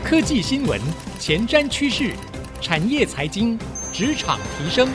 科技新聞、前瞻趨勢、產業財經、職場提升，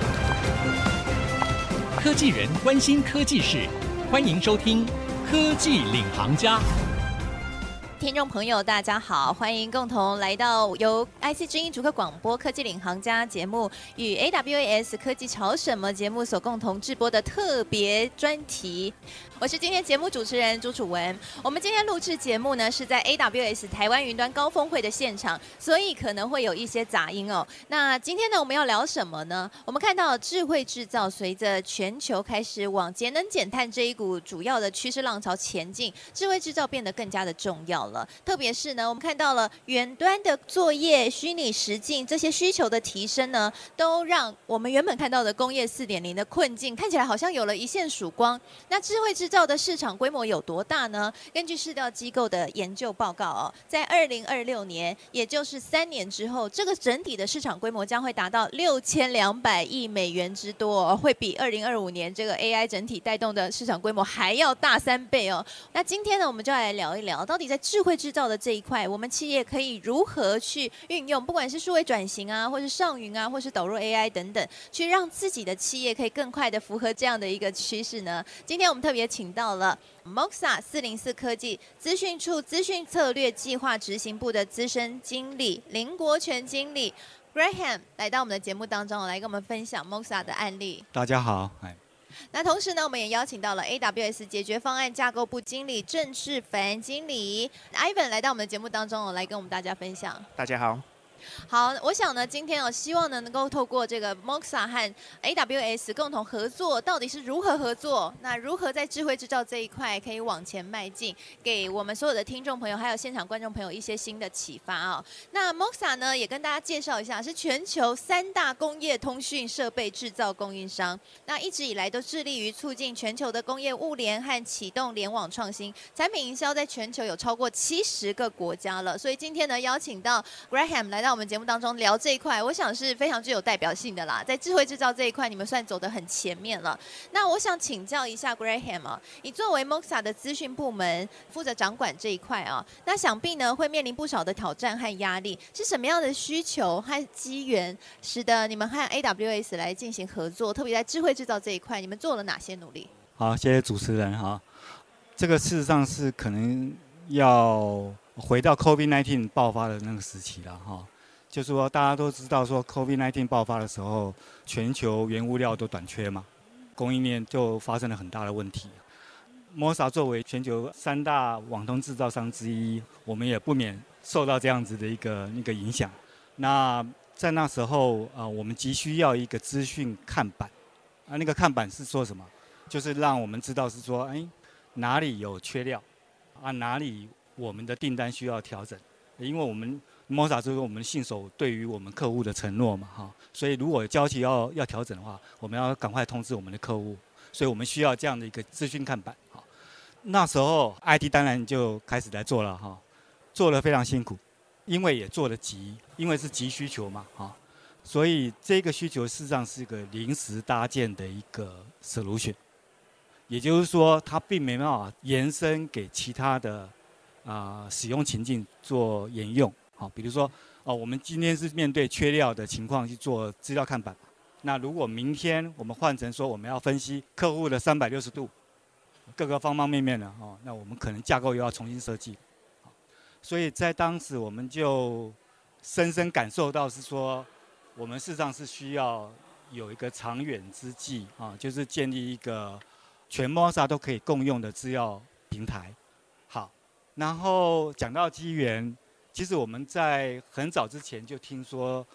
科技人關心科技事，歡迎收聽《科技領航家》。 聽眾朋友，大家好，歡迎共同來到由 IC 之音竹科廣播科技領航家節目與 AWS 科技潮什麼節目所共同製播的特別專題。我是今天節目主持人朱楚文。我們今天錄製節目呢是在 AWS 台灣雲端高峰會的現場，所以可能會有一些雜音哦。那今天呢我們要聊什麼呢？我們看到智慧製造隨着全球開始往節能減碳這一股主要的趨勢浪潮前進，智慧製造變得更加的重要了。特別是呢，我們看到了遠端的作業、虛擬實境這些需求的提升呢，都讓我們原本看到的工業4.0的困境看起來好像有了一線曙光。那智慧製造的市場規模有多大呢？根據市調機構的研究報告哦，在2026年，也就是3年之後，這個整體的市場規模將會達到6200億美元之多哦，會比2025年這個 AI 整體帶動的市場規模還要大3倍哦。那今天呢，我們就來聊一聊，到底在智慧製造的這一塊，我們企業可以如何去運用，不管是數位轉型啊，或是上雲啊，或是導入 AI 等等，去讓自己的企業可以更快的符合這樣的一個趨勢呢？今天我們特別請到了 Moxa 404科技資訊處資訊策略計劃執行部的資深經理林國權經理 Graham 來到我們的節目當中，來跟我們分享 Moxa 的案例。 大家好， 那同時呢，我們也邀請到了 AWS 解決方案架構部經理鄭志凡經理 Ivan 來到我們的節目當中，來跟我們大家分享。 大家好。 好，我想呢，今天希望呢能夠透過這個 Moxa 和 AWS 共同合作，到底是如何合作？那如何在智慧製造這一塊可以往前邁進，給我們所有的聽眾朋友還有現場觀眾朋友一些新的啟發啊、哦。那 Moxa 呢，也跟大家介紹一下，是全球3大工業通訊設備製造供應商。那一直以來都致力於促進全球的工業物聯和啟動聯網創新，產品營銷在全球有超過70個國家了。所以今天呢，邀請到 Graham 來到我們節目當中聊這一塊，我想是非常具有代表性的啦。在智慧製造這一塊，你們算走得很前面了。那我想請教一下 Graham 啊，你作為 Moxa 的資訊部門負責掌管這一塊啊，那想必呢會面臨不少的挑戰和壓力。是什麼樣的需求和機緣，使得你們和 AWS 來進行合作？特別在智慧製造這一塊，你們做了哪些努力？ 好，謝謝主持人哈。這個事實上是可能要回到 COVID-19 爆發的那個時期了哈。就是說，大家都知道說 COVID-19 爆發的時候，全球原物料都短缺嘛，供應鏈就發生了很大的問題。Moxa 作為全球3大網通製造商之一，我們也不免受到這樣子的一個影響。那在那時候我們急需要一個資訊看板那個看板是說什麼？就是讓我們知道是說，哪裡有缺料哪裡我們的訂單需要調整，因為我們Moxa 就是我們信守對於我們客戶的承諾嘛，哈，所以如果交期要調整的話，我們要趕快通知我們的客戶，所以我們需要這樣的一個資訊看板，哈。那時候 IT 當然就開始來做了，哈，做得非常辛苦，因為也做得急，因為是急需求嘛，哈，所以這個需求事實上是一個臨時搭建的一個 solution， 也就是說它並沒辦法延伸給其他的使用情境做沿用。好，比如說，我們今天是面對缺料的情況去做資料看板。那如果明天我們換成說我們要分析客戶的360度，各個方方面面的那我们可能架構又要重新設計。所以在當時我們就深深感受到是說，我們事實上是需要有一個長遠之計就是建立一個全 Moxa 都可以共用的資料平台。好，然後講到機緣。其實我們在很早之前就聽說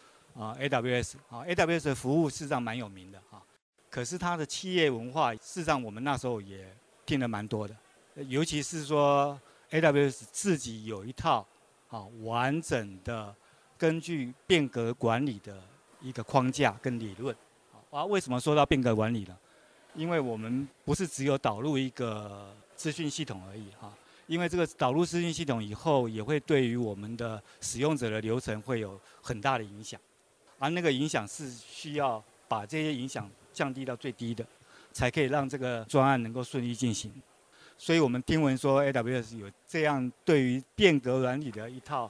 ，AWS 的服務事實上蠻有名的可是它的企業文化，事實上我們那時候也聽了蠻多的，尤其是說 AWS 自己有一套完整的根據變革管理的一個框架跟理論。為什麼說到變革管理呢？因為我們不是只有導入一個資訊系統而已因為這個導入資訊系統以後，也會對於我們的使用者的流程會有很大的影響，而那個影響是需要把這些影響降低到最低的，才可以讓這個專案能夠順利進行。所以我們聽聞說 AWS 有這樣對於變革管理的一套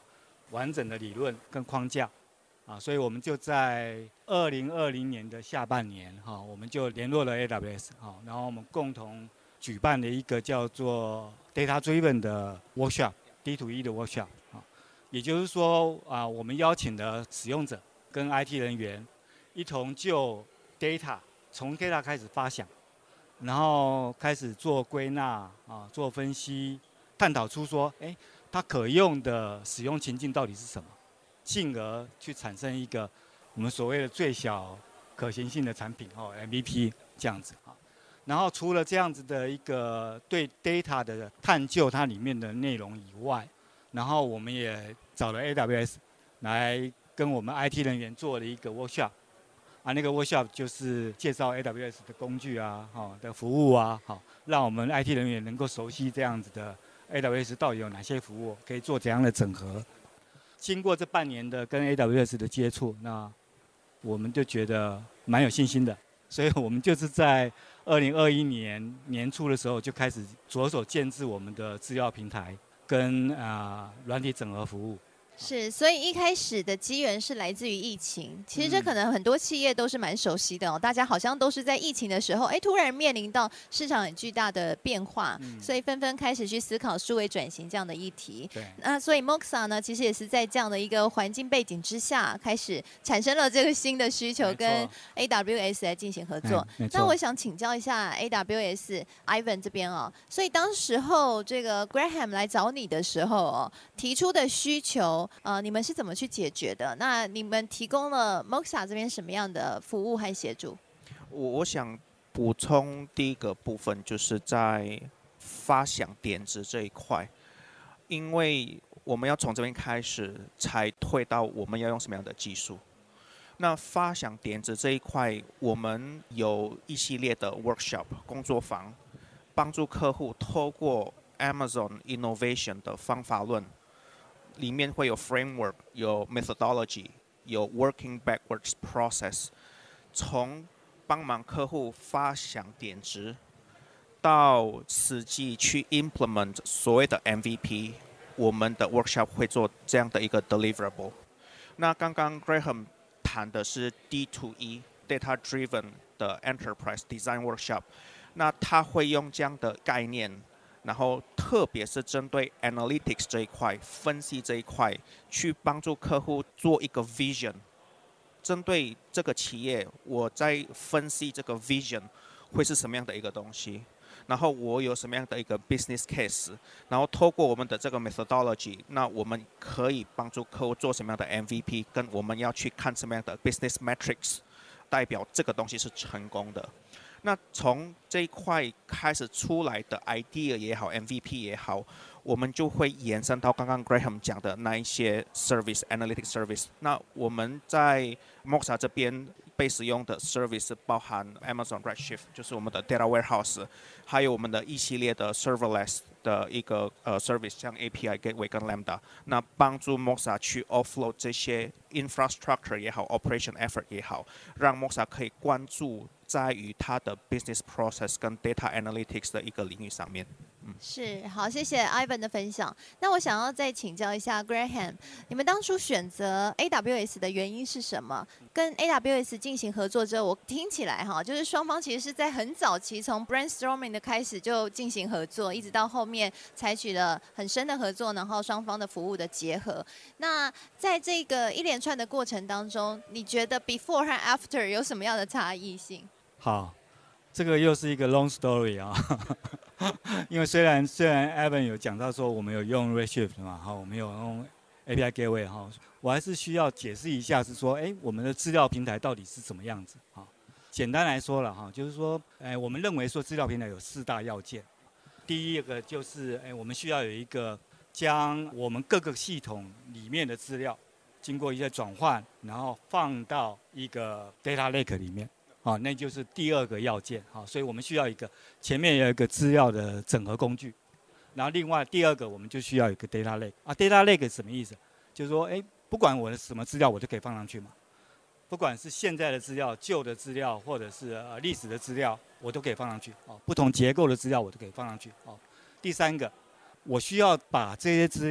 完整的理論跟框架。所以我們就在2020年的下半年，我們就聯絡了 AWS， 然後我們共同舉辦了一個叫做 Data Driven 的 Workshop， D2E 的 Workshop。也就是說，我們邀請了使用者跟 IT 人員一同就 Data， 從 Data 開始發想，然後開始做歸納，做分析，探討出說，它可用的使用情境到底是什麼？進而去產生一個我們所謂的最小可行性的產品，MVP 這樣子。然後除了這樣子的一個對 data 的探究，它裡面的內容以外，然後我們也找了 AWS 來跟我們 IT 人員做了一個 workshop， 那個 workshop 就是介紹 AWS 的工具的服務讓我們 IT 人員能夠熟悉這樣子的 AWS 到底有哪些服務，可以做怎樣的整合。經過這半年的跟 AWS 的接觸，那我們就覺得蠻有信心的，所以我們就是在2021年年初的時候就開始着手建置我們的資料平台跟軟體整合服務。 是，所以一開始的機緣是來自於疫情。其實這可能很多企業都是蠻熟悉的大家好像都是在疫情的時候，突然面臨到市場很巨大的變化，所以紛紛開始去思考數位轉型這樣的議題。那所以 Moxa 呢，其實也是在這樣的一個環境背景之下，開始產生了這個新的需求，跟 AWS 來進行合作。那我想請教一下 AWS Ivan 這邊所以當時候這個 Graham 來找你的時候提出的需求。你們是怎麼去解決的？那你們提供了 Moxa 這邊什麼樣的服務和協助？ 我想補充第一個部分，就是在發想點子這一塊，因為我們要從這邊開始，才推到我們要用什麼樣的技術。那發想點子這一塊，我們有一系列的 workshop 工作坊，幫助客戶透過 Amazon Innovation 的方法論。裡面會有 framework， 有 methodology， 有 working backwards process， 從幫忙客戶發想點子，到實際去 implement 所謂的 MVP， 我們的 workshop 會做這樣的一個 deliverable。那剛剛 Graham 談的是 D2E Data Driven 的 Enterprise Design Workshop， 那他會用這樣的概念。然後，特別是針對 analytics 這一塊、分析這一塊，去幫助客戶做一個 vision。針對這個企業，我在分析這個 vision 會是什麼樣的一個東西，然後我有什麼樣的一個 business case， 然後透過我們的這個 methodology， 那我們可以幫助客戶做什麼樣的 MVP， 跟我們要去看什麼樣的 business metrics， 代表這個東西是成功的。那從這一塊開始出來的 idea 也好 ，MVP 也好，我們就會延伸到剛剛 Graham 講的那一些 service、analytic service。那我們在 Moxa 這邊被使用的 service 包含 Amazon Redshift， 就是我們的 data warehouse， 還有我們的一系列的 serverless 的一個service， 像 API Gateway 跟 Lambda， 那幫助 Moxa 去 offload 這些 infrastructure 也好 ，operation effort 也好，讓 Moxa 可以關注在於它的 business process 跟 data analytics 的一個領域上面。 是，好，謝謝 Ivan 的分享。那我想要再請教一下 Graham， 你們當初選擇 AWS 的原因是什麼？跟 AWS 進行合作之後，我聽起來就是雙方其實是在很早期從 brainstorming 的開始就進行合作，一直到後面採取了很深的合作，然後雙方的服務的結合。那在這個一連串的過程當中，你覺得 before 和 after 有什麼樣的差異性？ 好，這個又是一個 long story 因為雖然 Evan 有講到說我們有用 Redshift 嘛，我們有用 API Gateway 我還是需要解釋一下，是說，我們的資料平台到底是什麼樣子簡單來說了就是說，我們認為說資料平台有4大要件。第一個就是，我們需要有一個將我們各個系統裡面的資料經過一些轉換，然後放到一個 data lake 裡面。那就是第2個要件。所以我們需要前面有一個資料的整合工具，然後另外第2個我們就需要一個 data lake。data lake 是什麼意思？就是說，不管我的什麼資料，我都可以放上去嘛。不管是現在的資料、舊的資料，或者是歷史的資料，我都可以放上去。不同結構的資料我都可以放上去。第3個，我需要把這些資料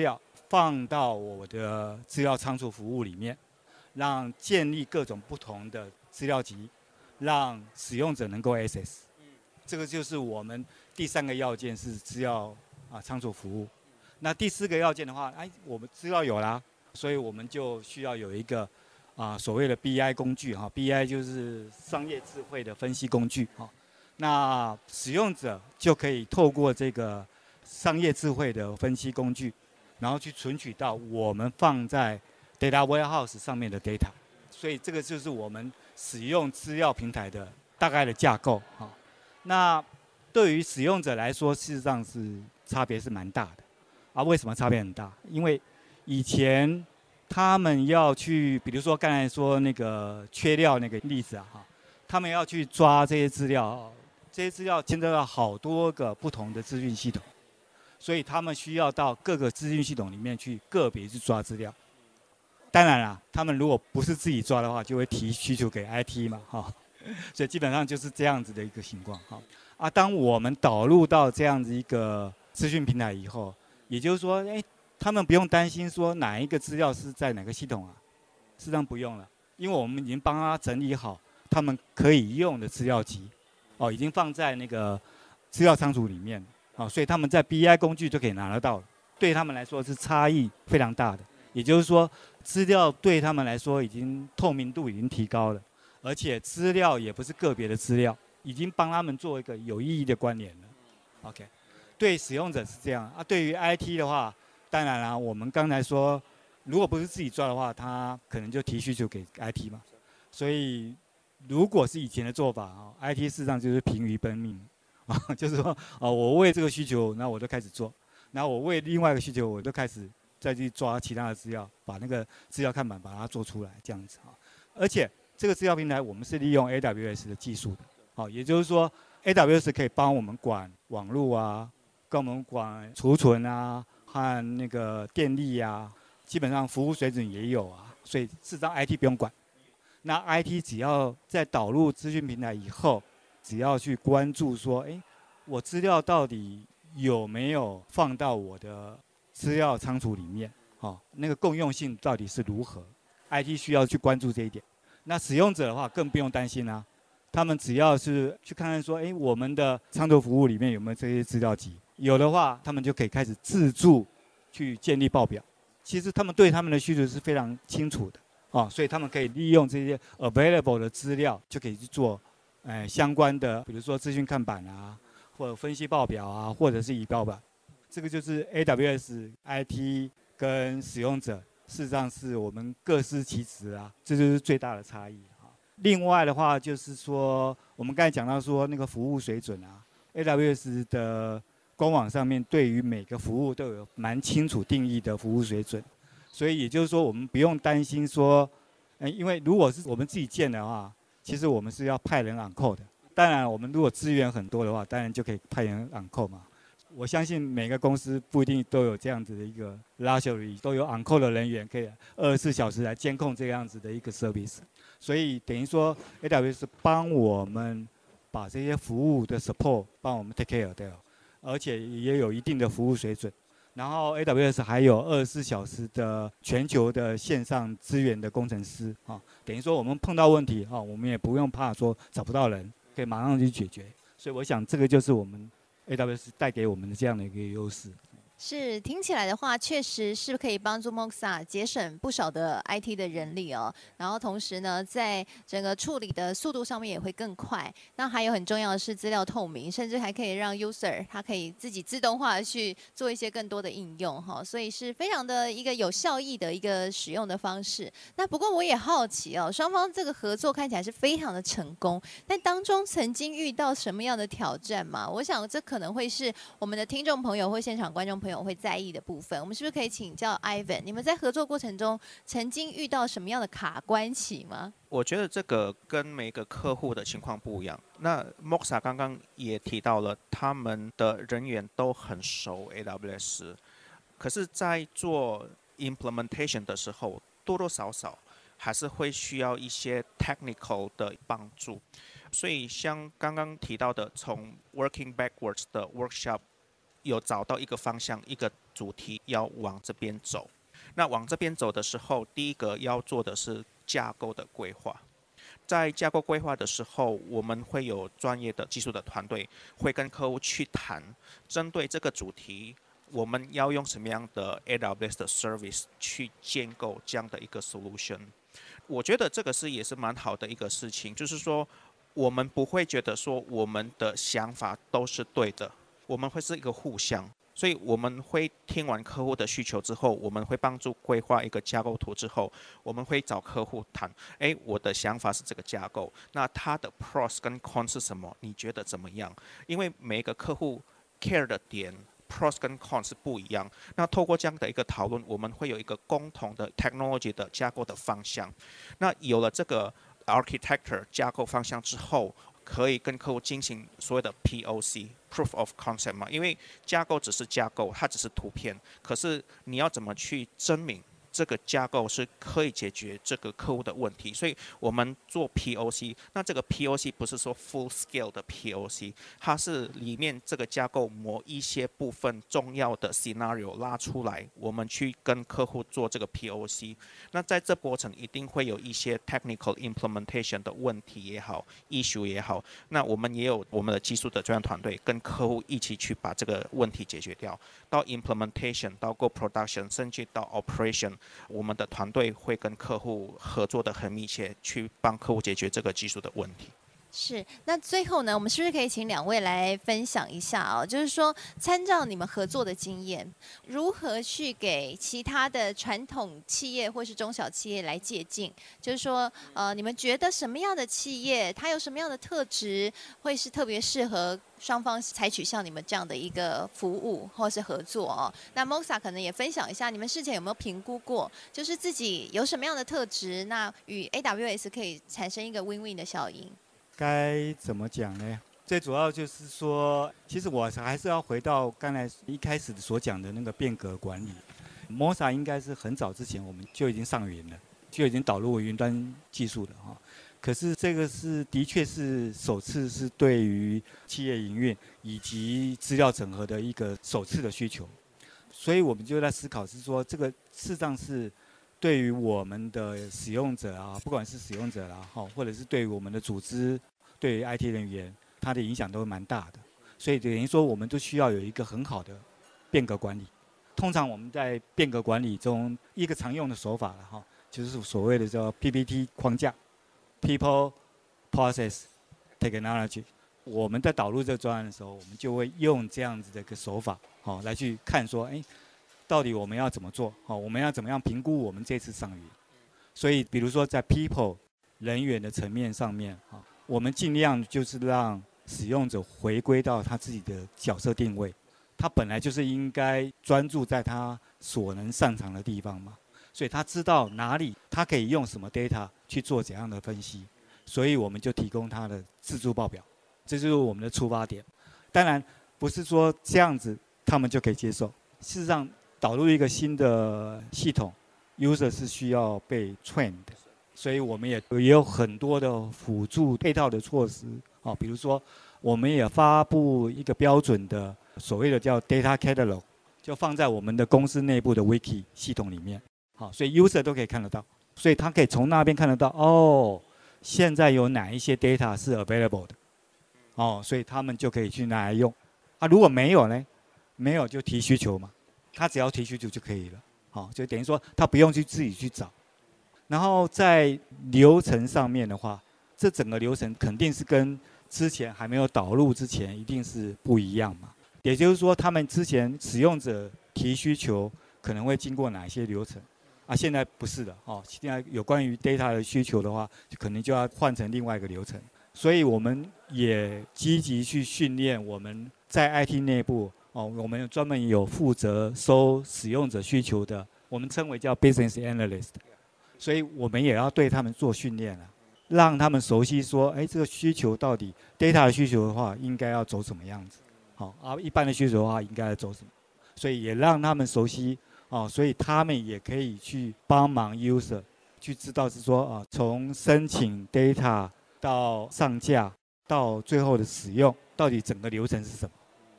放到我的資料倉儲服務裡面，讓建立各種不同的資料集，讓使用者能夠 access。這個就是我們第3個要件是資料倉儲服務。那第4個要件的話，我們資料有啦，所以我們就需要有一個所謂的 BI 工具哈 ，BI 就是商業智慧的分析工具哈。那使用者就可以透過這個商業智慧的分析工具，然後去存取到我們放在 Data Warehouse 上面的 data。所以這個就是我們使用資料平台的大概的架構哈。那對於使用者來說，事實上是差別是蠻大的為什麼差別很大？因為以前他們要去，比如說剛才說那個缺料那個例子他們要去抓這些資料，這些資料牽扯到好多個不同的資訊系統，所以他們需要到各個資訊系統裡面去個別去抓資料。當然啦，他們如果不是自己抓的話，就會提需求給 IT 嘛所以基本上就是這樣子的一個情況當我們導入到這樣子一個資訊平台以後，也就是說，他們不用擔心說哪一個資料是在哪個系統事實上不用了，因為我們已經幫他整理好他們可以用的資料集，已經放在那個資料倉儲裡面，所以他們在 BI 工具就可以拿得到了。對他們來說是差異非常大的，也就是說，資料對他們來說已經透明度已經提高了，而且資料也不是個別的資料，已經幫他們做一個有意義的關聯了。OK。對使用者是這樣對於 IT 的話，當然啦，我們剛才說，如果不是自己抓的話，他可能就提需求給 IT 嘛。所以，如果是以前的做法IT 事實上就是疲於奔命就是說我為這個需求，那我就開始做，然後我為另外一個需求，我就開始再去抓其他的資料，把那個資料看板把它做出來，這樣子而且這個資料平台我們是利用 AWS 的技術的也就是說 AWS 可以幫我們管網絡跟我們管儲存和那個電力基本上服務水準也有所以事實上 IT 不用管。那 IT 只要在導入資訊平台以後，只要去關注說，我資料到底有沒有放到我的資料倉儲裡面，那個共用性到底是如何 ？IT 需要去關注這一點。那使用者的話更不用擔心他們只要是去看看說，我們的倉儲服務裡面有沒有這些資料集。有的話，他們就可以開始自助去建立報表。其實他們对他們的需求是非常清楚的所以他們可以利用這些 available 的資料，就可以去做相關的，比如說資訊看板或者分析報表或者是儀表板。這個就是 AWS IT 跟使用者，事實上是我們各司其職這就是最大的差異另外的話就是說，我們剛才講到說那個服務水準AWS 的官網上面對於每個服務都有蠻清楚定義的服務水準，所以也就是說我們不用擔心說，因為如果是我們自己建的話，其實我們是要派人 on call 的。當然我們如果資源很多的話，當然就可以派人 on call嘛。我相信每個公司不一定都有這樣子的一個 luxury， 都有 on call 的人員可以24小時來監控這樣子的一個 service。所以等於說 AWS 幫我們把這些服務的 support 幫我們 take care 掉，而且也有一定的服務水準。然後 AWS 還有24小時的全球的線上資源的工程師等於說我們碰到問題我們也不用怕說找不到人，可以馬上去解決。所以我想這個就是我們 AWS 帶給我們的這樣的一個優勢。 是，聽起來的話，確實是可以幫助 Moxa 節省不少的 IT 的人力然後同時呢，在整個處理的速度上面也會更快。那還有很重要的是資料透明，甚至還可以讓 User 他可以自己自動化的去做一些更多的應用所以是非常的一個有效益的一個使用的方式。那不過我也好奇雙方這個合作看起來是非常的成功，但當中曾經遇到什麼樣的挑戰嗎？我想這可能會是我們的聽眾朋友或現場觀眾朋友會在意的部分。我們是不是可以請教 Ivan， 你們在合作過程中曾經遇到什麼樣的卡關期嗎？ 我覺得這個跟每個客戶的情況不一樣。那 Moxa 剛剛也提到了，他們的人員都很熟 AWS， 可是在做 implementation 的時候，多多少少還是會需要一些 technical 的幫助。所以像剛剛提到的，從 working backwards 的 workshop 有找到一個方向，一個主題要往這邊走。那往這邊走的時候，第一個要做的是架構的規劃。在架構規劃的時候，我們會有專業的技術的團隊會跟客戶去談，針對這個主題，我們要用什麼樣的 AWS 的 service 去建構這樣的一個 solution。我覺得這個也是蠻好的一個事情，就是說我們不會覺得說我們的想法都是對的，我們會是一個互相。所以我們會聽完客戶的需求之後，我們會幫助規劃一個架構圖之後，我們會找客戶談，我的想法是這個架構，那它的 pros 跟 cons 是什麼？你覺得怎麼樣？因為每一個客戶 care 的點 pros 跟 cons 是不一樣。那透過這樣的一個討論，我們會有一個共同的 technology 的架構的方向。那有了這個 architecture 架構方向之後，可以跟客戶進行所謂的 POC（Proof of Concept） 嘛，因為架構只是架構，它只是圖片，可是你要怎麼去證明這個架構是可以解決這個客戶的問題？所以我們做 POC， 那這個 POC 不是說 full scale 的 POC， 它是裡面這個架構某一些部分重要的 scenario 拉出來，我們去跟客戶做這個 POC。那在這過程一定會有一些 technical implementation 的問題也好 ，issue 也好，那我們也有我們的技術的專業團隊跟客戶一起去把這個問題解決掉。到 implementation， 到 go production， 甚至到 operation。我們的團隊會跟客戶合作得很密切，去幫客戶解決這個技術的問題。 是，那最後呢，我們是不是可以請兩位來分享一下哦？就是說，參照你們合作的經驗，如何去給其他的傳統企業或是中小企業來借鑑？就是說，你們覺得什麼樣的企業，它有什麼樣的特質，會是特別適合雙方採取像你們這樣的一個服務或是合作哦？那 Moxa 可能也分享一下，你們事前有沒有評估過，就是自己有什麼樣的特質，那與 AWS 可以產生一個 win-win 的效應？ 該怎麼講呢？最主要就是說，其實我還是要回到剛才一開始所講的那個變革管理。Moxa 應該是很早之前我們就已經上雲了，就已經導入雲端技術了哈。可是這個的確是首次是對於企業營運以及資料整合的一個首次的需求，所以我們就在思考是說，這個事實上是對於我們的使用者啊，不管是使用者啦，或者是對於我們的組織，對於 IT 人員，它的影響都蠻大的。所以等於說，我們都需要有一個很好的變革管理。通常我們在變革管理中，一個常用的手法了哈，就是所謂的叫 PPT 框架 ，People, Process, Technology。我們在導入這個專案的時候，我們就會用這樣子的一個手法，來去看說，到底我們要怎麼做？我們要怎麼樣評估我們這次上雲？所以，比如說在 people 人員的層面上面，我們盡量就是讓使用者回歸到他自己的角色定位，他本來就是應該專注在他所能擅長的地方嘛，所以他知道哪裡他可以用什麼 data 去做怎樣的分析，所以我們就提供他的自助報表，這就是我們的出發點。當然，不是說這樣子他們就可以接受，事實上，導入一個新的系統 ，user 是需要被 train 的，所以我們也有很多的輔助配套的措施，比如說我們也發布一個標準的所謂的叫 data catalog， 就放在我們的公司內部的 wiki 系統裡面，所以 user 都可以看得到，所以他可以從那邊看得到，現在有哪一些 data 是 available 的，所以他們就可以去拿來用，如果沒有呢？沒有就提需求嘛。他只要提需求就可以了，就等於說他不用去自己去找。然後在流程上面的話，這整個流程肯定是跟之前還沒有導入之前一定是不一樣嘛。也就是說，他們之前使用者提需求可能會經過哪一些流程，現在不是的，現在有關於 data 的需求的話，可能就要換成另外一個流程。所以我們也積極去訓練我們在 IT 內部。我們專門有負責收使用者需求的，我們稱為叫 business analyst， 所以我們也要對他們做訓練了，讓他們熟悉說，這個需求到底 data 的需求的話，應該要走什麼樣子，一般的需求的話，應該要走什麼，所以也讓他們熟悉，所以他們也可以去幫忙 user 去知道是說，從申請 data 到上架到最後的使用，到底整個流程是什麼。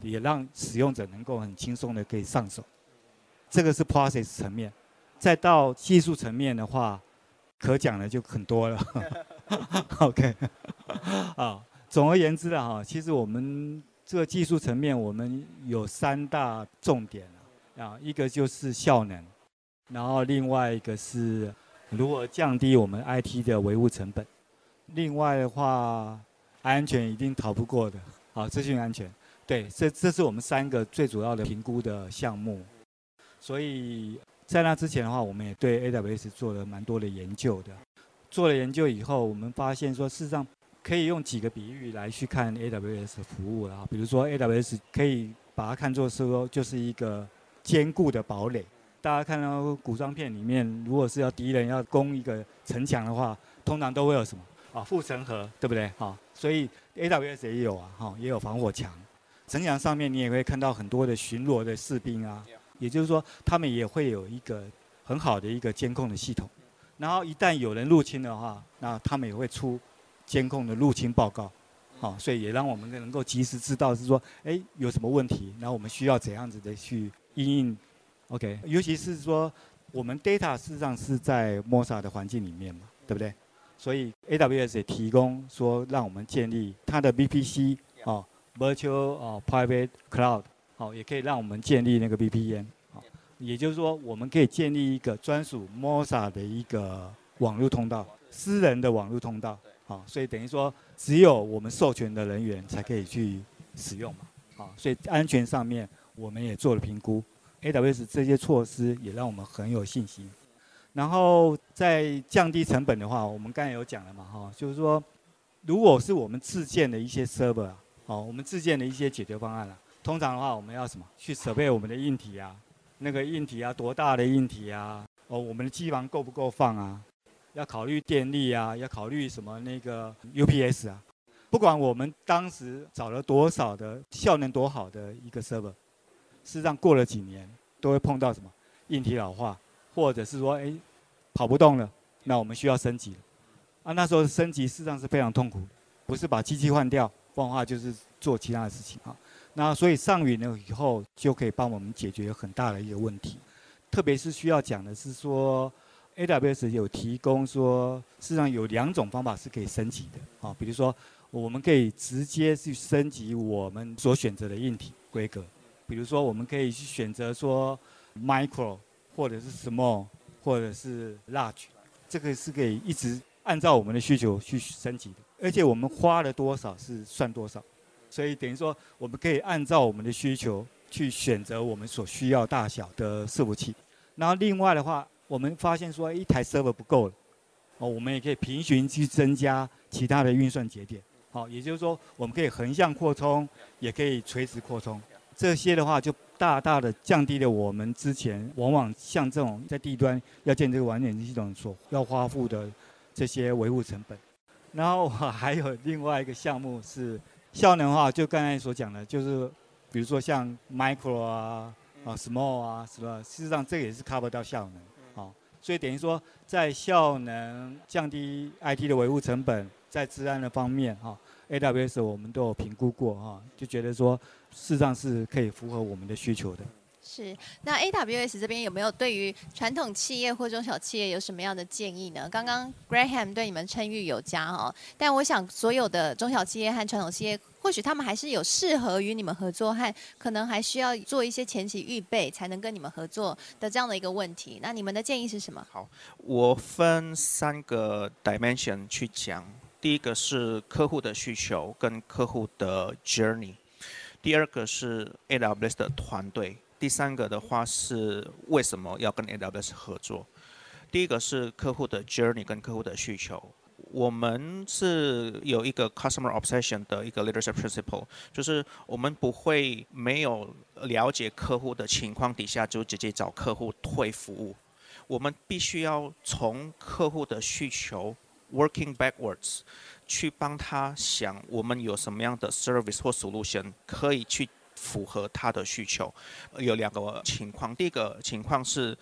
也讓使用者能夠很輕鬆的可以上手。這個是 process 層面，再到技術層面的話，可講的就很多了。OK， 啊，總而言之了哈，其實我們這個技術層面，我們有3大重點啊，一個就是效能，然後另外一個是如何降低我們 IT 的維護成本，另外的話，安全一定逃不過的，好，資訊安全，對，這是我們3個最主要的評估的項目。所以在那之前的話，我們也對 AWS 做了蠻多的研究的。做了研究以後，我們發現說，事實上可以用幾個比喻來去看 AWS 的服務啦。比如說 AWS 可以把它看作是說，就是一個堅固的堡壘。大家看到古裝片裡面，如果是要敵人要攻一個城牆的話，通常都會有什麼啊？護城河，對不對？好，所以 AWS 也有啊，哈，也有防火牆。城牆上面你也會看到很多的巡邏的士兵啊，也就是說，他們也會有一個很好的一個監控的系統。然後一旦有人入侵的話，那他們也會出監控的入侵報告，好，所以也讓我們能夠及時知道是說，哎，有什麼問題，然後我們需要怎樣子的去因應。OK， 尤其是說我們 data 事實上是在 Mosa 的環境裡面嘛，對不對？所以 AWS 也提供說讓我們建立它的 VPC 哦 ，Virtual Private Cloud， 好，也可以讓我們建立那個 VPN。也就是說，我們可以建立一個專屬 Mosa 的一個網絡通道，私人的網絡通道，好，所以等於說只有我們授權的人員才可以去使用嘛，好，所以安全上面我們也做了評估 ，AWS 這些措施也讓我們很有信心。然後在降低成本的話，我們剛才有講了嘛，哈，就是說，如果是我們自建的一些 server 啊，好，我們自建的一些解決方案啊，通常的話我們要什麼？去設備我們的硬體啊。那個硬體啊，多大的硬體啊？哦，我們的機房夠不夠放啊？要考慮電力啊，要考慮什麼那個 UPS 啊？不管我們當時找了多少的效能多好的一個 server， 事實上過了幾年都會碰到什麼硬體老化，或者是說哎跑不動了，那我們需要升級了。啊，那時候升級事實上是非常痛苦的，不是把機器換掉，不然的話就是做其他的事情啊。那所以上雲了以後，就可以幫我們解決很大的一個問題。特別是需要講的是說 ，AWS 有提供說，事實上有2種方法是可以升級的啊。比如說，我們可以直接去升級我們所選擇的硬體規格。比如說，我們可以去選擇說 Micro 或者是 Small 或者是 Large， 這個是可以一直按照我們的需求去升級的。而且我們花了多少是算多少。所以等於說，我們可以按照我們的需求去選擇我們所需要大小的伺服器。然後另外的話，我們發現說一台 server 不夠了，哦，我們也可以平行去增加其他的運算節點。好，也就是說，我們可以橫向擴充，也可以垂直擴充。這些的話，就大大的降低了我們之前往往像这種在地端要建這個完整系統所要花費的這些維護成本。然後還有另外一個項目是。效能的話，就剛才所講的，就是比如說像 micro 啊、small 啊，是吧？事實上，這個也是 cover 到效能，好，所以等於說，在效能降低 IT 的維護成本，在資安的方面，哈 ，AWS 我們都有評估過，哈，就覺得說，事實上是可以符合我們的需求的。 是，那 AWS 這邊有沒有對於傳統企業或中小企業有什麼樣的建議呢？剛剛 Graham 對你們稱譽有加哦，但我想所有的中小企業和傳統企業，或許他們還是有適合與你們合作和可能還需要做一些前期預備才能跟你們合作的這樣的一個問題。那你們的建議是什麼？ 好，我分3個 dimension 去講。第一個是客戶的需求跟客戶的 journey， 第2個是 AWS 的團隊。第3個的話是為什麼要跟 AWS 合作？第一個是客戶的 journey 跟客戶的需求。我們是有一個 customer obsession 的一個 leadership principle， 就是我們不會沒有了解客戶的情況底下就直接找客戶推服務。我們必須要從客戶的需求 working backwards 去幫他想我們有什麼樣的 service 或 solution 可以去符合他的需求。有2個情況，第一個情況是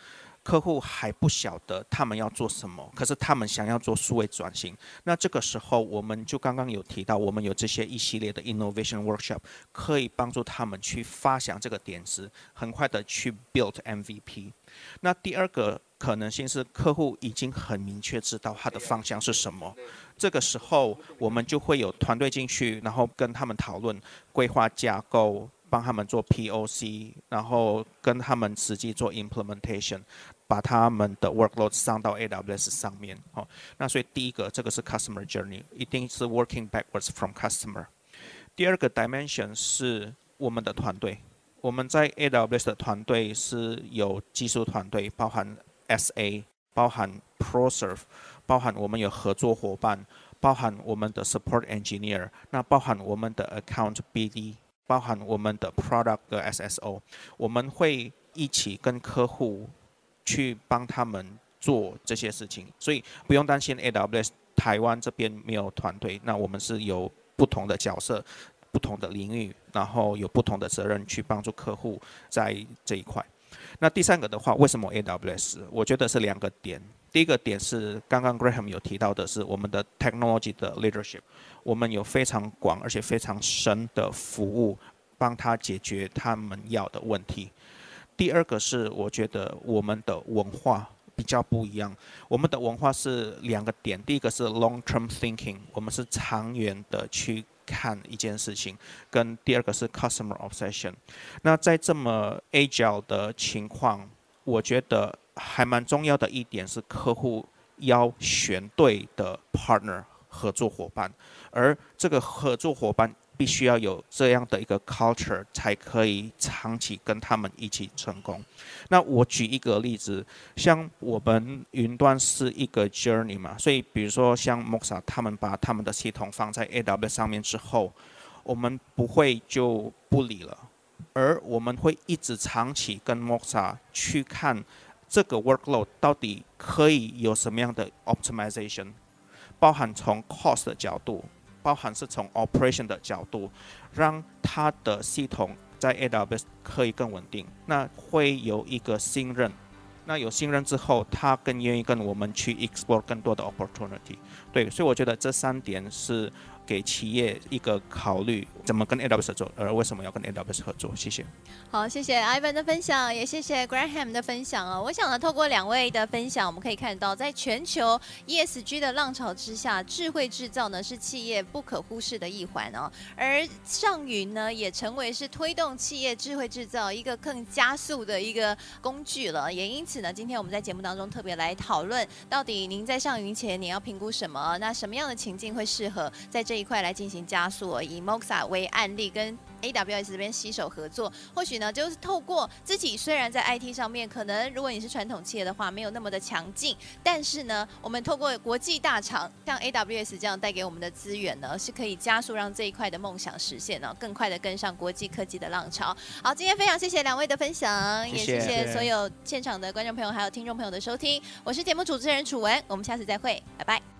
客戶還不曉得他們要做什麼，可是他們想要做數位轉型。那這個時候，我們就剛剛有提到，我們有這些一系列的 innovation workshop， 可以幫助他們去發想這個點子，很快的去 build MVP。那第二個可能性是，客戶已經很明確知道他的方向是什麼，這個時候我們就會有團隊進去，然後跟他們討論規劃架構，幫他們做 POC， 然後跟他們實際做 implementation， 把他們的 workload 上到 AWS 上面。那所以第一個，這個是 customer journey， 一定是 working backwards from customer。第二個 dimension 是我們的團隊，我們在 AWS 的团队是有技術团隊，包含 SA， 包含 ProServe， 包含我們有合作夥伴，包含我們的 Support Engineer， 那包含我們的 Account BD， 包含我們的 Product 的 SSO， 我們會一起跟客戶去幫他們做這些事情，所以不用擔心 AWS 台灣這邊沒有團隊，那我們是有不同的角色，不同的領域，然後有不同的責任去幫助客戶在這一塊。那第三個的話，為什麼 AWS？ 我覺得是兩個點。第一個點是剛剛 Graham 有提到的是我們的 technology 的 leadership， 我們有非常廣而且非常深的服務，幫他解決他們要的問題。第二個是我覺得我們的文化比較不一樣，我們的文化是兩個點，第一個是 long-term thinking， 我們是長遠的去看一件事情，跟第二個是 customer obsession。那在這麼 agile 的情況，我覺得還蠻重要的一點是客戶要選對的 partner 合作夥伴，而這個合作夥伴必須要有這樣的一個 culture， 才可以長期跟他們一起成功。那我舉一個例子，像我們雲端是一個 journey 嘛，所以比如說像 Moxa 他們把他們的系統放在 AWS 上面之後，我們不會就不理了，而我們會一直長期跟 Moxa 去看這個 workload 到底可以有什麼樣的 optimization， 包含從 cost 的角度，包含是從 operation 的角度，讓它的系統在 AWS 可以更穩定，那會有一個信任，那有信任之後，他更願意跟我們去 explore 更多的 opportunity。對，所以我覺得這三點是給企業一個考慮，怎麼跟 AWS 合作，而為什麼要跟 AWS 合作。謝謝。 好，謝謝 Ivan 的分享，也謝謝 Graham 的分享哦。我想呢，透過兩位的分享，我們可以看到，在全球 ESG 的浪潮之下，智慧製造呢是企業不可忽視的一環哦。而上雲呢，也成為是推動企業智慧製造一個更加速的一個工具了。也因此呢，今天我們在節目當中特別來討論，到底您在上雲前，你要評估什麼？那什麼樣的情境會適合在這一塊來進行加速？以 Moxa 為案例，跟 AWS 這邊攜手合作，或許呢，就是透過自己雖然在 IT 上面，可能如果你是傳統企業的話，沒有那麼的強勁，但是呢，我們透過國際大廠像 AWS 這樣帶給我們的資源呢，是可以加速讓這一塊的夢想實現呢，更快的跟上國際科技的浪潮。好，今天非常謝謝兩位的分享，也謝謝所有現場的觀眾朋友還有聽眾朋友的收聽。我是節目主持人楚文，我們下次再會，拜拜。